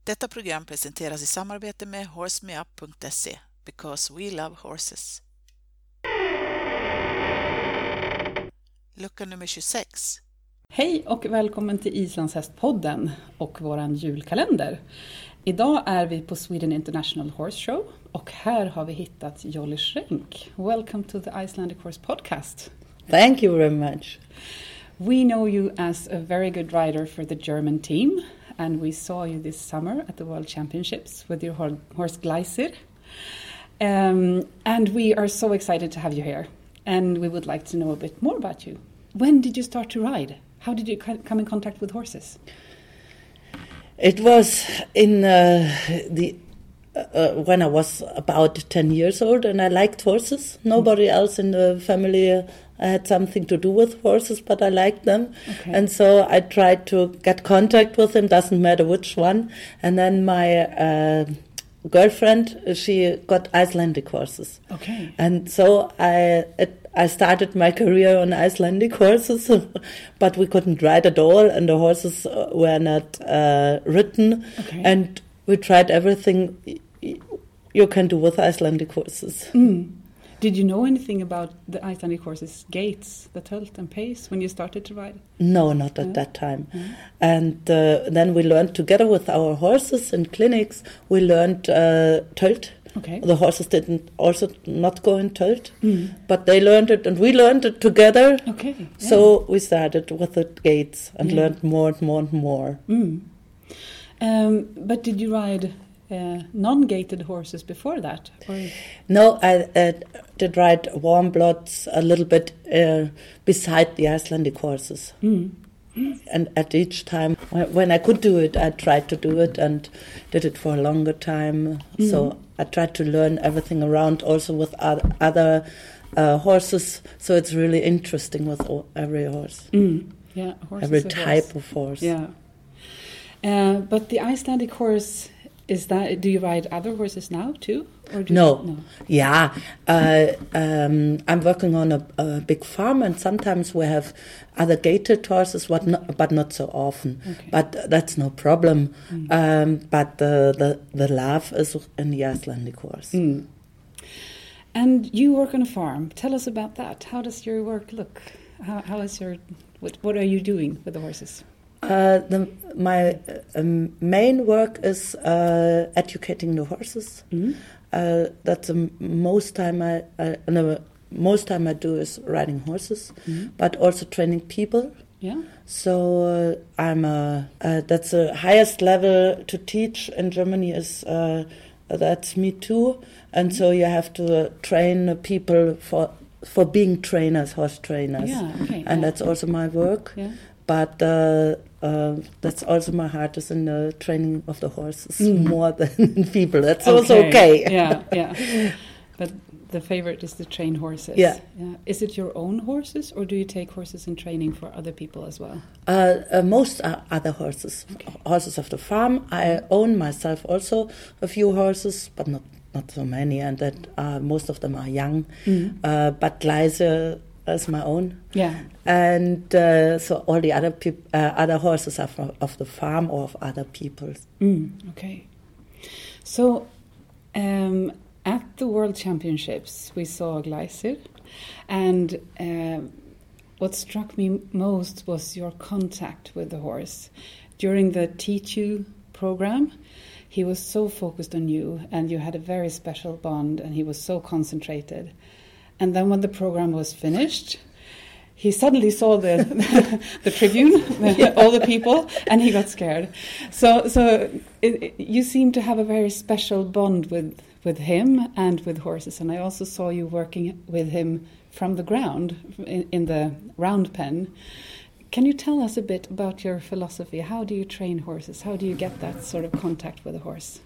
Detta program presenteras i samarbete med horsemeup.se, because we love horses. Lucka nummer 26. Hej och välkommen till Islandshästpodden och våran julkalender. Idag är vi på Sweden International Horse Show och här har vi hittat Jolly Schenk. Welcome to the Icelandic Horse Podcast. Thank you very much. We know you as a very good rider for the German team, and we saw you this summer at the World Championships with your horse Gleisir. And we are so excited to have you here, and we would like to know a bit more about you. When did you start to ride? How did you come in contact with horses? It was in when I was about 10 years old, and I liked horses. Nobody else in the family had something to do with horses, but I liked them. Okay. And so I tried to get contact with them, doesn't matter which one. And then my girlfriend, she got Icelandic horses. Okay. And so I started my career on Icelandic horses, but we couldn't ride at all, and the horses were not ridden. Okay. And we tried everything you can do with Icelandic horses. Mm. Did you know anything about the Icelandic horses' gaits, the tölt and pace, when you started to ride? No, not at that time. Mm. And then we learned together with our horses in clinics, we learned tölt. Okay. The horses didn't also not go in tölt, but they learned it and we learned it together. Okay. Yeah. So we started with the gaits and learned more and more and more. Mm. But did you ride non-gated horses before that? Or? No, I did ride warm bloods a little bit beside the Icelandic horses. Mm. And at each time, when I could do it, I tried to do it and did it for a longer time. Mm. So I tried to learn everything around, also with other horses. So it's really interesting with every horse. Mm. Yeah, every type of horse. Yeah. But the Icelandic horse, do you ride other horses now too? Or no. Yeah. I'm working on a big farm, and sometimes we have other gated horses, but not so often. Okay. But that's no problem. Mm. But the love is in the Icelandic horse. Mm. And you work on a farm. Tell us about that. How does your work look? How is what are you doing with the horses? My main work is educating the horses. Mm-hmm. That's the most time I do is riding horses, but also training people. Yeah. So that's the highest level to teach in Germany is that's me too, and so you have to train people for being trainers, horse trainers. Yeah. Okay. And that's also my work. Yeah. But that's also my heart is in the training of the horses more than people. That's also okay. Yeah, yeah. But the favorite is to train horses. Yeah. Is it your own horses, or do you take horses in training for other people as well? Most are other horses. Okay. Horses of the farm. I own myself also a few horses, but not so many, and that most of them are young. But Gleisir is my own. Yeah. And so all the other horses are of the farm or of other people. Okay. So at the World Championships, we saw Gleisir, and what struck me most was your contact with the horse. During the Teach You program, he was so focused on you, and you had a very special bond, and he was so concentrated. And then when the program was finished, he suddenly saw the tribune, all the people, and he got scared. So you seem to have a very special bond with him and with horses. And I also saw you working with him from the ground in the round pen. Can you tell us a bit about your philosophy? How do you train horses? How do you get that sort of contact with a horse?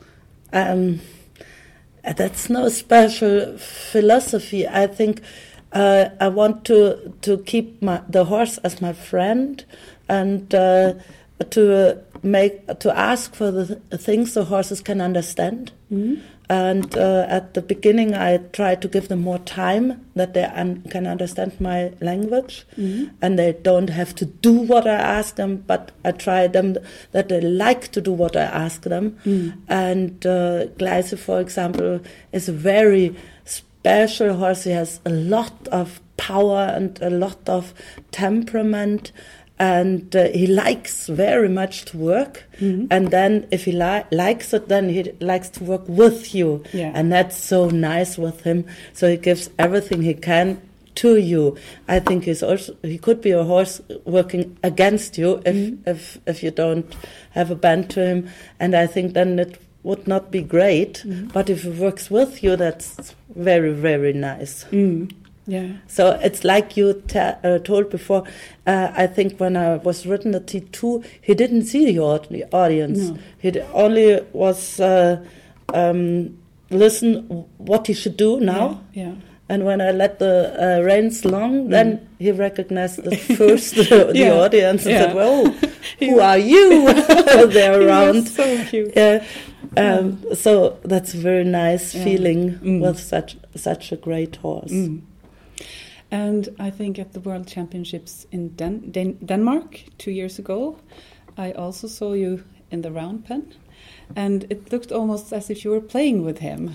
That's no special philosophy. I think I want to keep the horse as my friend, and to ask for the things the horses can understand. Mm-hmm. And at the beginning, I try to give them more time that they can understand my language, and they don't have to do what I ask them. But I try them that they like to do what I ask them. And Gleise, for example, is a very special horse. He has a lot of power and a lot of temperament. And he likes very much to work. And then if he likes it, then he likes to work with you. Yeah. And that's so nice with him. So he gives everything he can to you. I think he could be a horse working against you if you don't have a band to him. And I think then it would not be great. But if he works with you, that's very, very nice. Yeah. So it's like you told before. I think when I was ridden the T2, he didn't see the audience. No. He only was listen what he should do now. Yeah. And when I let the reins long, then he recognized the first the audience and said, "Whoa, who are you?" They're around. So cute. Yeah. So that's a very nice feeling with such a great horse. And I think at the World Championships in Denmark 2 years ago, I also saw you in the round pen, and it looked almost as if you were playing with him.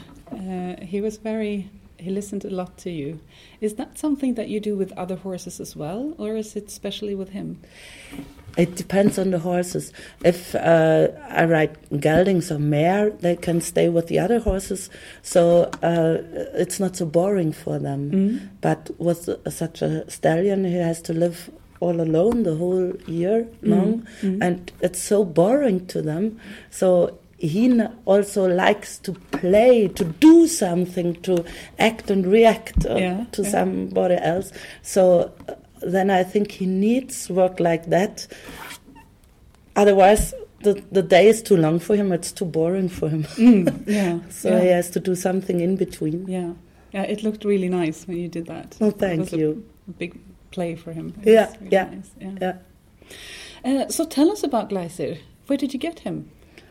He listened a lot to you. Is that something that you do with other horses as well, or is it especially with him? It depends on the horses. If I ride geldings or mare, they can stay with the other horses, so it's not so boring for them. But with such a stallion, he has to live all alone the whole year long, and it's so boring to them. So he also likes to play, to do something, to act and react to somebody else. So then I think he needs work like that. Otherwise, the day is too long for him. It's too boring for him. So he has to do something in between. Yeah, it looked really nice when you did that. Oh, thank you. A big play for him. Yeah, Nice. So tell us about Gleisir. Where did you get him?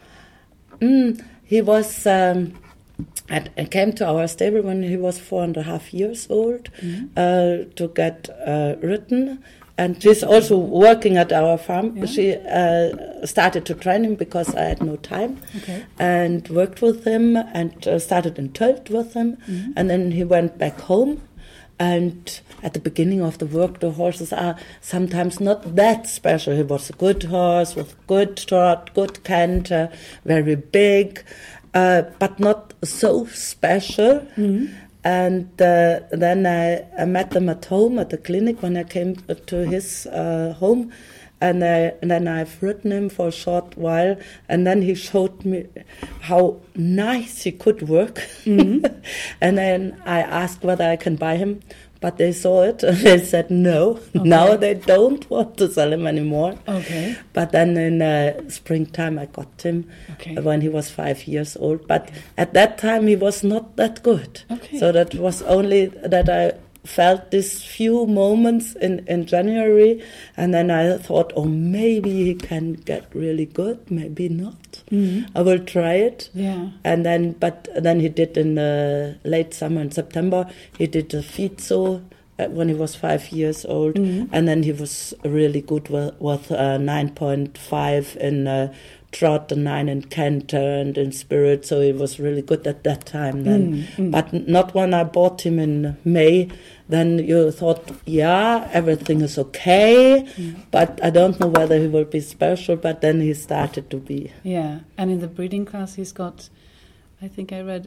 He was. I came to our stable when he was 4.5 years old to get ridden, and she's also working at our farm. Yeah. She started to train him because I had no time, and worked with him and started in Tölt with him, and then he went back home. And at the beginning of the work, the horses are sometimes not that special. He was a good horse with good trot, good canter, very big, but not so special. And then I met them at home at the clinic when I came to his home. And then I've ridden him for a short while, and then he showed me how nice he could work. And then I asked whether I can buy him, but they saw it and they said no. Okay. Now they don't want to sell him anymore. Okay. But then in springtime I got him when he was 5 years old. But at that time he was not that good. Okay. So that was only that I felt these few moments in January, and then I thought, oh, maybe he can get really good, maybe not. I will try it. Yeah. And then he did in the late summer in September, he did the Fizo when he was 5 years old, and then he was really good with 9.5 in trot and 9 in canter and in spirit, so he was really good at that time then. But not when I bought him in May. Then you thought, yeah, everything is okay, but I don't know whether he will be special, but then he started to be. Yeah, and in the breeding class he's got, I think I read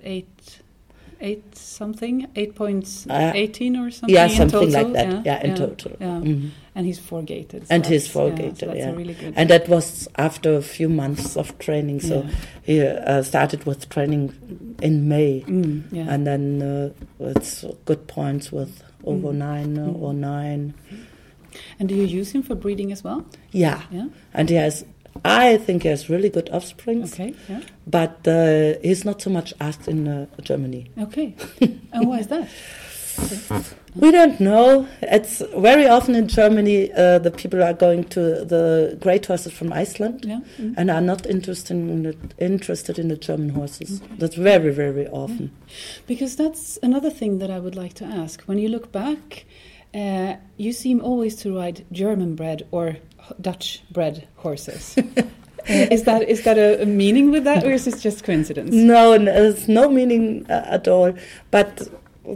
8.18 or something. Yeah, something in total. like that. Yeah, in total. Yeah. And he's 4-gated. So and he's 4-gated. So that's really good. And that was after a few months of training. So he started with training in May, and then it's good points with over 9 or 9. And do you use him for breeding as well? Yeah. And I think he has really good offspring. Okay. Yeah. But he's not so much asked in Germany. Okay. And why is that? We don't know. It's very often in Germany the people are going to the great horses from Iceland and are not interested in the German horses. Okay. That's very, very often. Because that's another thing that I would like to ask. When you look back, you seem always to ride German-bred or Dutch-bred horses. Is that a meaning with that, or is it just coincidence? No, there's no meaning at all. But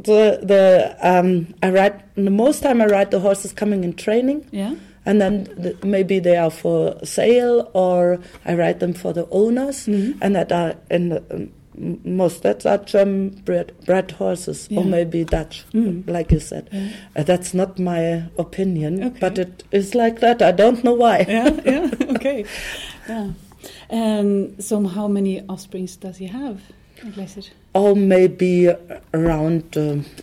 most time I ride the horses coming in training. Yeah. And then maybe they are for sale, or I ride them for the owners, and that are that are German bred horses, or maybe Dutch, like you said. Yeah. That's not my opinion, but it is like that. I don't know why. Yeah. Okay. Yeah. So how many offsprings does he have, Gleiser? Oh, maybe around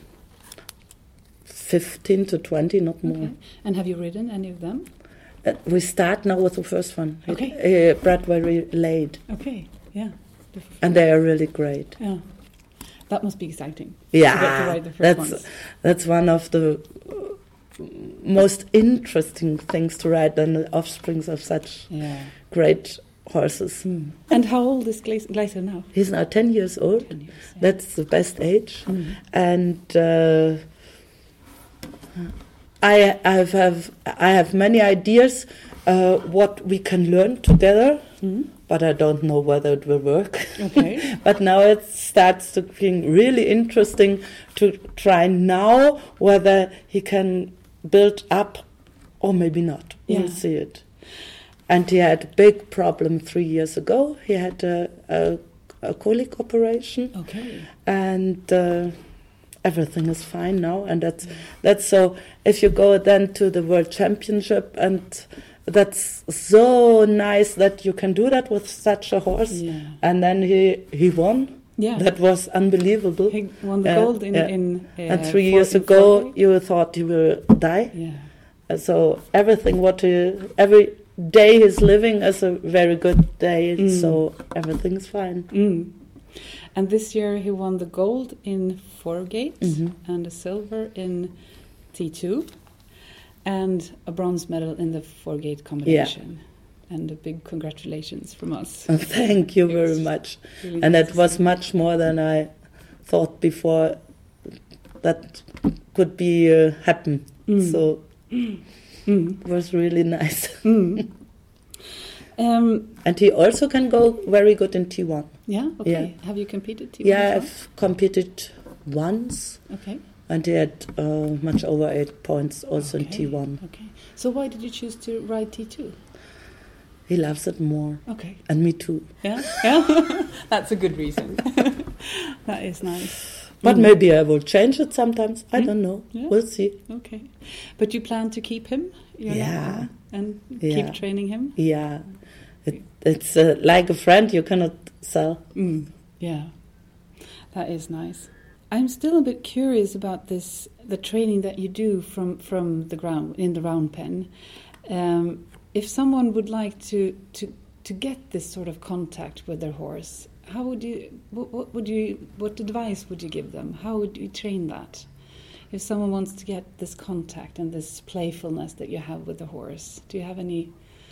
15 to 20, not more. Okay. And have you ridden any of them? We start now with the first one. Okay. Bred very late. Okay, yeah. And they are really great. Yeah. That must be exciting. Yeah. To get to ride the first ones. That's one of the most interesting things to ride, than the offsprings of such great horses. And how old is Gleiser now? He's now 10 years old. 10 years, yeah. That's the best age. And I have many ideas what we can learn together, but I don't know whether it will work. Okay. But now it starts to be really interesting to try now whether he can build up or maybe not. Yeah. We'll see it. And he had a big problem 3 years ago. He had a colic operation. Okay. And everything is fine now. And that's so. If you go then to the World Championship, and that's so nice that you can do that with such a horse. Yeah. And then he won. Yeah. That was unbelievable. He won the gold in and 3 years ago, you thought he will die. Yeah. So everything every day he's living is a very good day, so everything's fine. And this year he won the gold in Foregate and a silver in T2 and a bronze medal in the Foregate combination. Yeah. And a big congratulations from us. Thank you very much. Really and that was much more than I thought before that could be happen. So it was really nice. And he also can go very good in T1. Yeah, okay. Yeah. Have you competed T1? Yeah, I've competed once. Okay. And he had much over 8 points also in T1. Okay. So why did you choose to ride T2? He loves it more. Okay. And me too. Yeah? Yeah? That's a good reason. That is nice. But maybe I will change it sometimes. I don't know. Yeah. We'll see. Okay. But you plan to keep him? And keep training him? Yeah. It's like a friend you cannot sell. Yeah. That is nice. I'm still a bit curious about the training that you do from the ground, in the round pen. If someone would like to get this sort of contact with their horse, how would you? What advice would you give them? How would you train that? If someone wants to get this contact and this playfulness that you have with the horse, do you have any?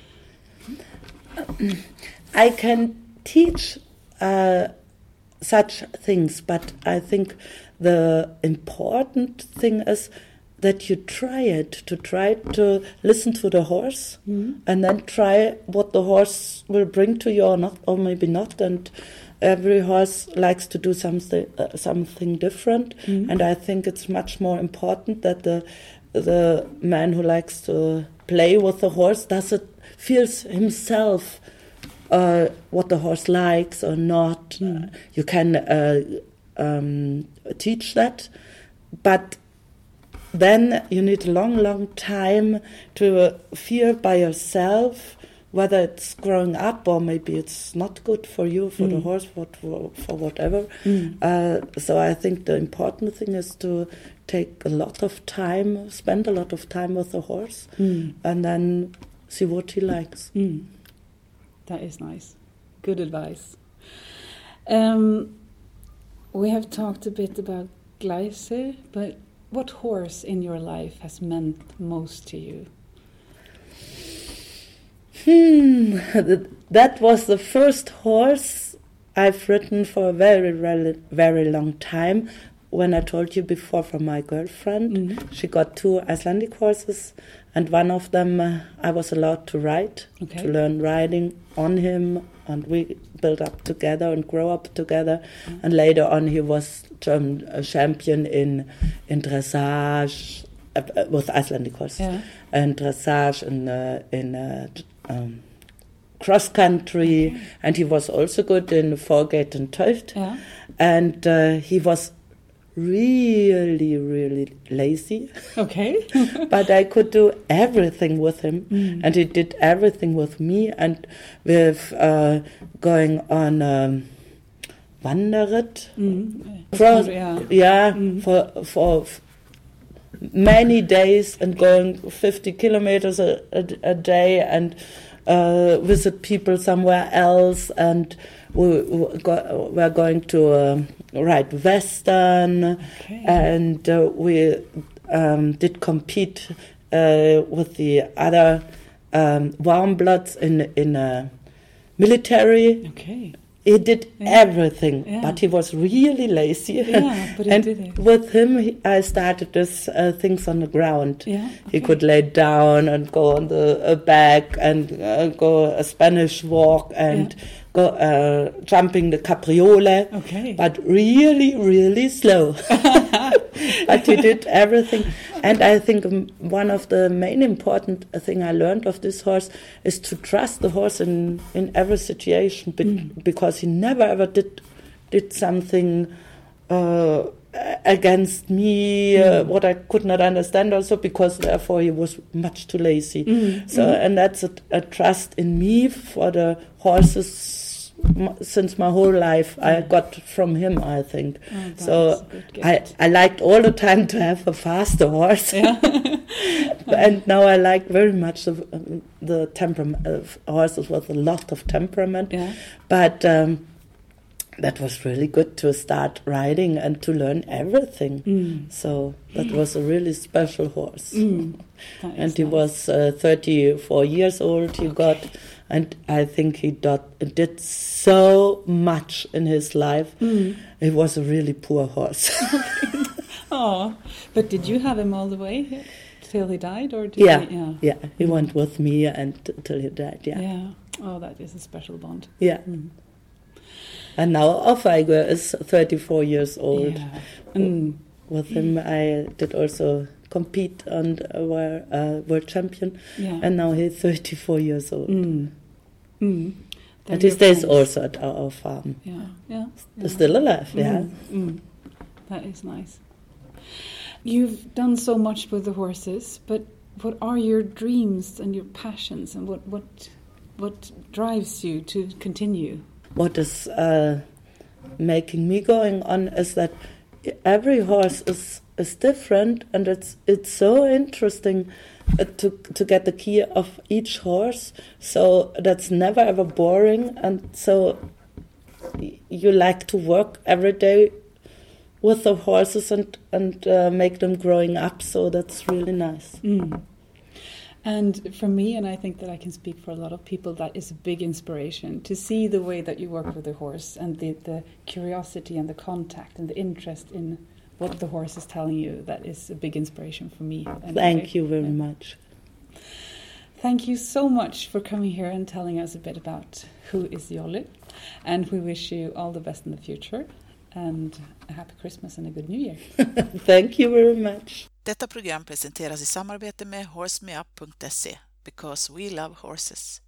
I can teach such things, but I think the important thing is that you try to listen to the horse, and then try what the horse will bring to you or not, or maybe not. And every horse likes to do something different, and I think it's much more important that the man who likes to play with the horse feels himself what the horse likes or not. You can teach that, but then you need a long time to feel by yourself whether it's growing up or maybe it's not good for you, for the horse, for whatever. So I think the important thing is to take a lot of time, spend a lot of time with the horse, and then see what he likes. That is nice. Good advice. We have talked a bit about Gleiser, but what horse in your life has meant most to you? That was the first horse I've ridden for a very, very long time. When I told you before from my girlfriend, she got 2 Icelandic horses, and one of them I was allowed to ride, to learn riding on him, and we built up together and grow up together. And later on, he was a champion in dressage with Icelandic horses, and dressage in cross country, and he was also good in Forgate and Töft. And he was really, really lazy. Okay. But I could do everything with him, and he did everything with me. And with going on Wanderritt, for many days, and going 50 kilometers a day, and visit people somewhere else, and we're going to ride Western, and we did compete with the other warm bloods in military. Okay. He did everything, but he was really lazy. Yeah, but and he did it. With him, I started this things on the ground. Yeah, He could lay down and go on the back, and go a Spanish walk, and go jumping the capriole. Okay. But really, really slow. But he did everything. And I think one of the main important thing I learned of this horse is to trust the horse in every situation, because he never ever did something against me, what I could not understand also, because therefore he was much too lazy. And that's a trust in me for the horses since my whole life I got from him, I think. So I liked all the time to have a faster horse. And now I like very much the temperament of horses with a lot of temperament. But that was really good to start riding and to learn everything. So that was a really special horse. And he was 34 years old, he got, and I think he did so much in his life. He was a really poor horse. Oh, but did you have him all the way till he died, or did he? Yeah, he went with me until he died. Yeah. Oh, that is a special bond. Yeah. And now Off-Eiger is 34 years old. With him, I did also compete and were world champion. And now he's 34 years old. And he stays also at our farm. He's still alive. That is nice. You've done so much with the horses, but what are your dreams and your passions, and what drives you to continue? What is making me going on is that every horse is different, and it's so interesting to get the key of each horse. So that's never ever boring, and so you like to work every day with the horses and make them growing up. So that's really nice. And for me, and I think that I can speak for a lot of people, that is a big inspiration to see the way that you work with the horse, and the curiosity and the contact and the interest in what the horse is telling you. That is a big inspiration for me. Thank you very much. Thank you so much for coming here and telling us a bit about who is Jolly. And we wish you all the best in the future, and a happy Christmas and a good New Year. Thank you very much. Detta program presenteras i samarbete med horsemeup.se, because we love horses.